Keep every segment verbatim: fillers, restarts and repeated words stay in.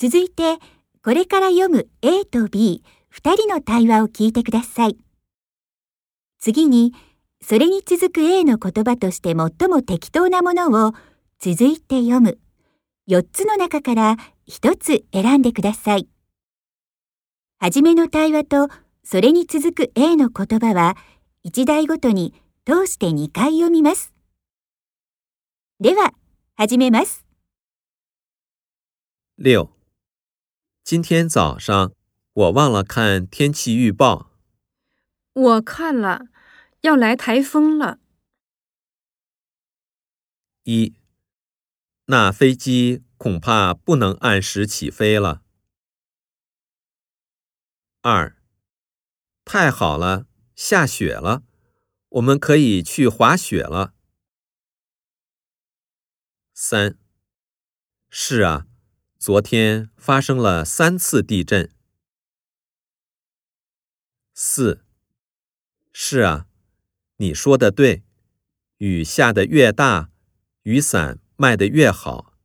続いて、これから読む A と B、二人の対話を聞いてください。次に、それに続く A の言葉として最も適当なものを続いて読む。よっつの中からひとつ選んでください。はじめの対話とそれに続く A の言葉は、一題ごとに通してにかい読みます。では、始めます。 六，今天早上我忘了看天气预报。 我看了，要来台风了。 一，那飞机恐怕不能按时起飞了。二，太好了，下雪了，我们可以去滑雪了。三，是啊，昨天发生了三次地震。四，是啊，你说的对，雨下得越大，雨伞卖得越好。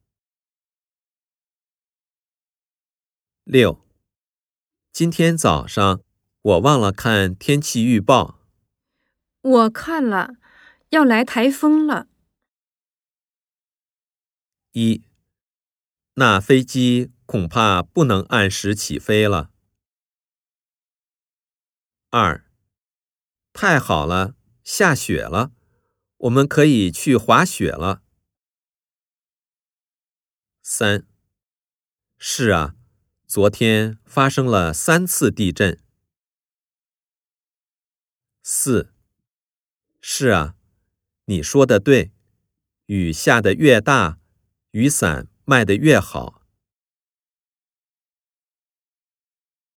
六，今天早上我忘了看天气预报。 我看了，要来台风了。 一，那飞机恐怕不能按时起飞了。二，太好了，下雪了，我们可以去滑雪了。三，是啊，昨天发生了三次地震。四，是啊，你说的对，雨下得越大，雨伞卖得越好。